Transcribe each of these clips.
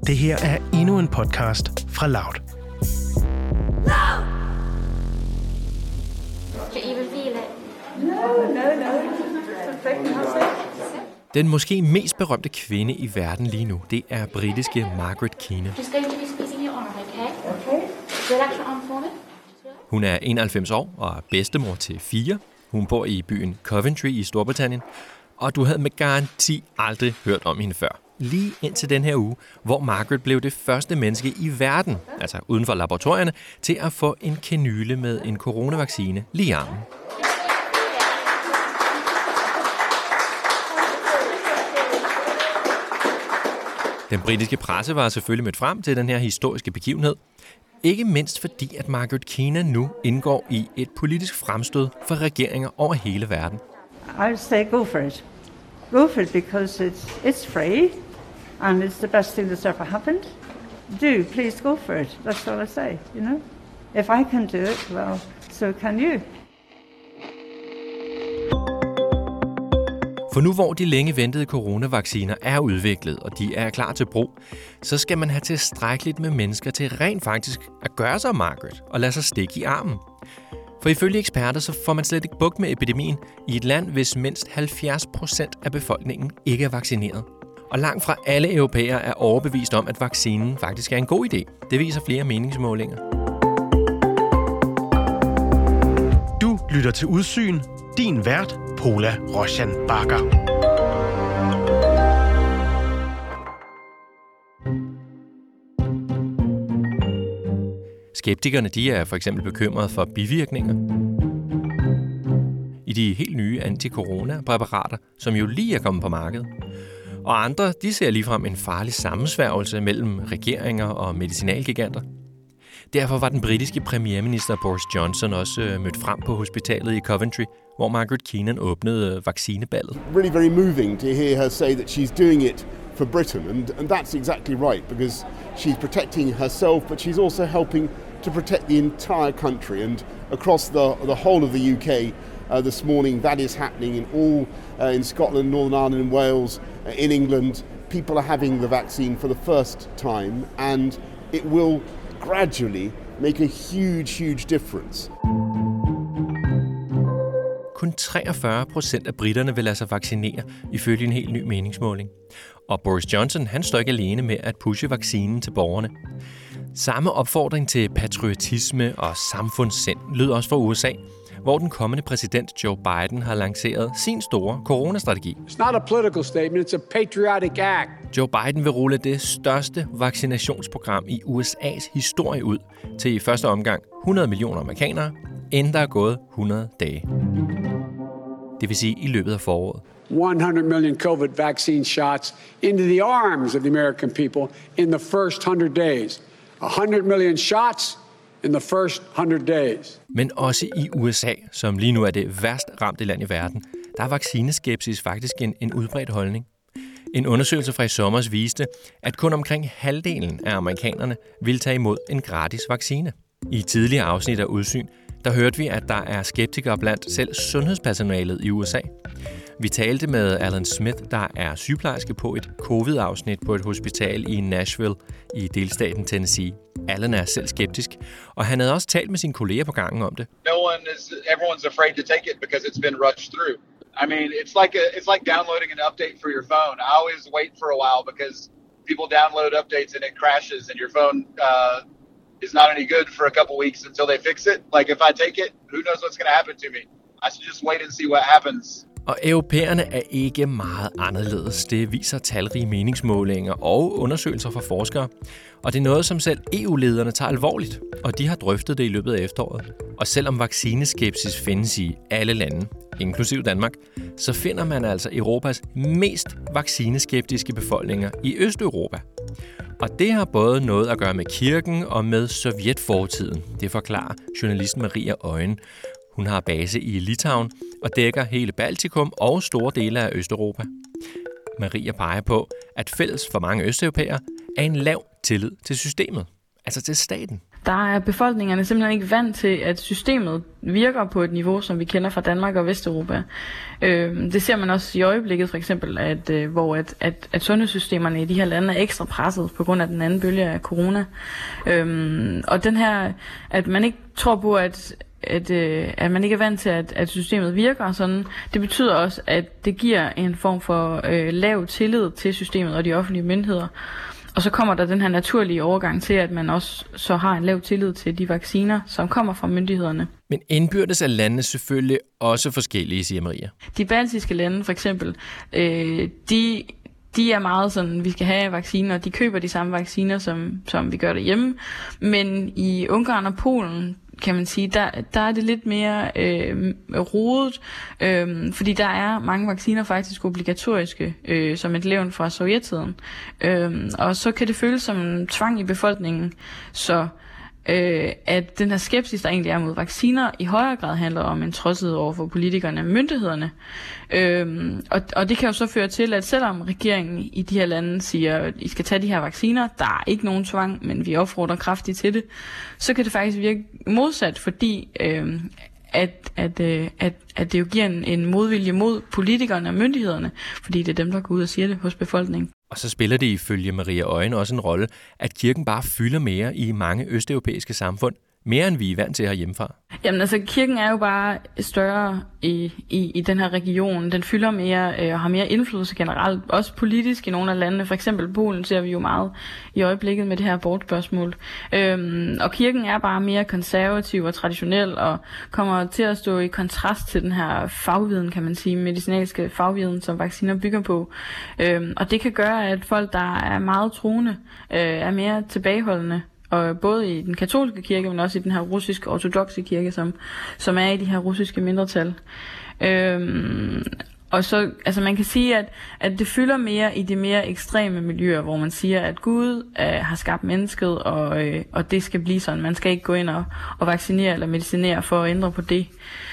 Det her er endnu en podcast fra Loud. Den måske mest berømte kvinde i verden lige nu, det er britiske Margaret Keenan. Hun er 91 år og er bedstemor til 4. Hun bor i byen Coventry i Storbritannien, og du havde med garanti aldrig hørt om hende før. Lige indtil den her uge, hvor Margaret blev det første menneske i verden, altså uden for laboratorierne, til at få en kanyle med en coronavaccine lige i armen. Den britiske presse var selvfølgelig mødt frem til den her historiske begivenhed. Ikke mindst fordi, at Margaret Keenan nu indgår i et politisk fremstød for regeringer over hele verden. I would say go for it. Go for it because it's free and it's the best thing that's ever happened. Please go for it. That's all I say, you know. If I can do it, well, so can you. For nu hvor de længe ventede coronavacciner er udviklet, og de er klar til brug, så skal man have tilstrækkeligt med mennesker til rent faktisk at gøre sig Margaret og lade sig stikke i armen. For ifølge eksperter, så får man slet ikke bugt med epidemien i et land, hvis mindst 70% af befolkningen ikke er vaccineret. Og langt fra alle europæere er overbevist om, at vaccinen faktisk er en god idé. Det viser flere meningsmålinger. Du lytter til Udsyn. Din vært, Pola Roshan Bakker. Skeptikerne de er for eksempel bekymrede for bivirkninger i de helt nye anti-corona-præparater, som jo lige er kommet på markedet. Og andre de ser ligefrem en farlig sammensværgelse mellem regeringer og medicinalgiganter. Derfor var den britiske premierminister Boris Johnson også mødt frem på hospitalet i Coventry, hvor Margaret Keenan åbnede vaccineballet. Really very moving to hear her say that she's doing it for Britain, and that's exactly right, because she's protecting herself, but she's also helping to protect the entire country. And across the whole of the UK this morning, that is happening in all in Scotland, Northern Ireland, and Wales, in England. People are having the vaccine for the first time, and it will gradually make a huge difference. Kun 43% af briterne vil lade sig vaccinere, ifølge en helt ny meningsmåling. Og Boris Johnson, han står ikke alene med at pushe vaccinen til borgerne. Samme opfordring til patriotisme og samfundssind lød også fra USA, hvor den kommende præsident Joe Biden har lanceret sin store coronastrategi. It's not a political statement, it's a patriotic act. Joe Biden vil rulle det største vaccinationsprogram i USA's historie ud til i første omgang 100 millioner amerikanere, inden der er gået 100 dage. Det vil sige i løbet af foråret. 100 million COVID vaccine shots into the arms of the American people in the first 100 days. 100 million shots in the first 100 days. Men også i USA, som lige nu er det værst ramte land i verden, der er vaccineskepsis faktisk en udbredt holdning. En undersøgelse fra i sommer viste, at kun omkring halvdelen af amerikanerne vil tage imod en gratis vaccine. I tidligere afsnit af Udsyn, der hørte vi, at der er skeptikere blandt selv sundhedspersonalet i USA. Vi talte med Alan Smith, der er sygeplejerske på et covid-afsnit på et hospital i Nashville i delstaten Tennessee. Alan er selv skeptisk, og han havde også talt med sine kolleger på gangen om det. Everyone's afraid to take it because it's been rushed through. I mean, it's like downloading an update for your phone. I always wait for a while because people download updates and it crashes and your phone is not any good for a couple weeks until they fix it. Like if I take it, who knows what's going to happen to me? I should just wait and see what happens. Og europæerne er ikke meget anderledes. Det viser talrige meningsmålinger og undersøgelser fra forskere. Og det er noget, som selv EU-lederne tager alvorligt, og de har drøftet det i løbet af efteråret. Og selvom vaccineskepsis findes i alle lande, inklusiv Danmark, så finder man altså Europas mest vaccineskeptiske befolkninger i Østeuropa. Og det har både noget at gøre med kirken og med sovjetfortiden. Det forklarer journalisten Maria Øjen. Hun har base i Litauen og dækker hele Baltikum og store dele af Østeuropa. Maria peger på, at fælles for mange østeuropæere er en lav tillid til systemet, altså til staten. der er befolkningerne simpelthen ikke vant til, at systemet virker på et niveau, som vi kender fra Danmark og Vesteuropa. Det ser man også i øjeblikket, for eksempel, hvor sundhedssystemerne i de her lande er ekstra presset på grund af den anden bølge af corona. Og den her, at man ikke tror på, at man ikke er vant til, at systemet virker sådan, det betyder også, at det giver en form for lav tillid til systemet og de offentlige myndigheder. Og så kommer der den her naturlige overgang til, at man også så har en lav tillid til de vacciner, som kommer fra myndighederne. Men indbyrdes er landene selvfølgelig også forskellige, siger Maria. De baltiske lande for eksempel, de er meget sådan, vi skal have vacciner, de køber de samme vacciner, som vi gør derhjemme. Men i Ungarn og Polen, kan man sige, der er det lidt mere rodet, fordi der er mange vacciner faktisk obligatoriske, som et levn fra sovjettiden. Og så kan det føles som tvang i befolkningen, så at den her skepsis, der egentlig er mod vacciner, i højere grad handler om en trodshed over for politikerne og myndighederne. Og det kan jo så føre til, at selvom regeringen i de her lande siger, at I skal tage de her vacciner, der er ikke nogen tvang, men vi opfordrer kraftigt til det, så kan det faktisk virke modsat, fordi at det jo giver en modvilje mod politikerne og myndighederne, fordi det er dem, der går ud og siger det hos befolkningen. Og så spiller det ifølge Maria Øjen også en rolle, at kirken bare fylder mere i mange østeuropæiske samfund, mere end vi er vant til herhjemmefra. Jamen altså, kirken er jo bare større i den her region. Den fylder mere og har mere indflydelse generelt, også politisk i nogle af landene. For eksempel Polen ser vi jo meget i øjeblikket med det her abortspørgsmål. Og kirken er bare mere konservativ og traditionel og kommer til at stå i kontrast til den her fagviden, kan man sige, medicinalske fagviden, som vacciner bygger på. Og det kan gøre, at folk, der er meget troende, er mere tilbageholdende. Og både i den katolske kirke, men også i den her russiske ortodokse kirke, som er i de her russiske mindretal. Og så, altså man kan sige, at det fylder mere i de mere ekstreme miljøer, hvor man siger, at Gud har skabt mennesket, og det skal blive sådan. Man skal ikke gå ind og vaccinere eller medicinere for at ændre på det.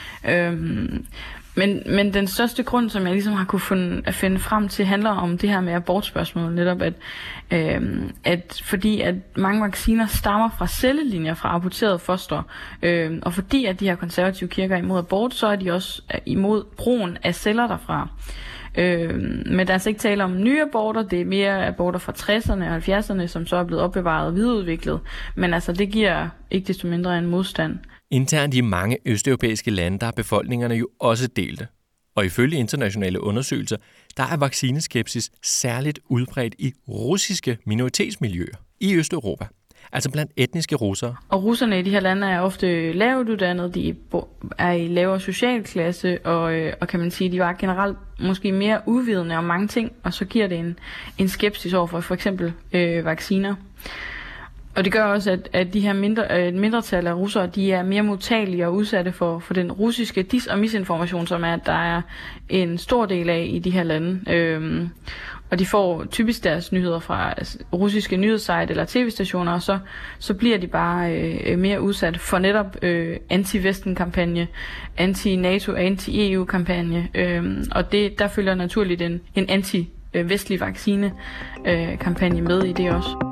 Men den største grund, som jeg ligesom har kunne finde frem til, handler om det her med abortspørgsmålet. Netop at fordi at mange vacciner stammer fra cellelinjer fra aborterede foster, og fordi at de her konservative kirker er imod abort, så er de også imod brugen af celler derfra. Men der er altså ikke tale om nye aborter, det er mere aborter fra 60'erne og 70'erne, som så er blevet opbevaret og videreudviklet. Men altså det giver ikke desto mindre en modstand. Internt i mange østeuropæiske lande, der er befolkningerne jo også delte. Og ifølge internationale undersøgelser, der er vaccineskepsis særligt udbredt i russiske minoritetsmiljøer i Østeuropa. Altså blandt etniske russere. Og russerne i de her lande er ofte lavt uddannede, de er i lavere socialklasse, og kan man sige, de var generelt måske mere uvidende om mange ting, og så giver det en skepsis over for eksempel vacciner. Og det gør også, at de her mindretal af russere, de er mere modtagelige og udsatte for den russiske dis- og misinformation, som der er en stor del af i de her lande. Og de får typisk deres nyheder fra russiske nyhedssite eller tv-stationer, og så bliver de bare mere udsat for netop anti-Vesten-kampagne, anti-NATO, anti-EU-kampagne. Og der følger naturligt en anti-vestlig vaccine-kampagne med i det også.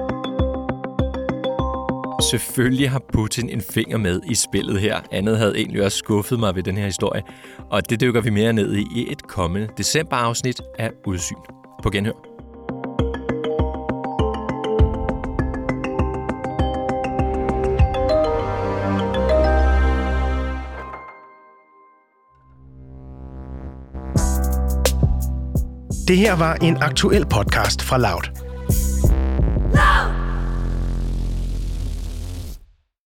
Selvfølgelig har Putin en finger med i spillet her. Andet havde egentlig også skuffet mig ved den her historie. Og det dykker vi mere ned i et kommende decemberafsnit af Udsyn. På genhør. Det her var en aktuel podcast fra Loud.